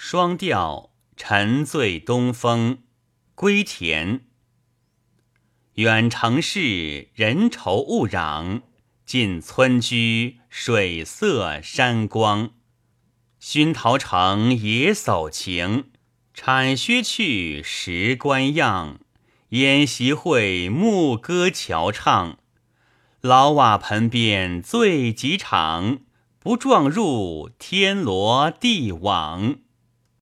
双调沉醉东风，归田。远城市，人愁物攘；近村居，水色山光。熏陶城野叟情，铲靴去石官样。宴席会，牧歌樵唱。老瓦盆边醉几场，不撞入天罗地网。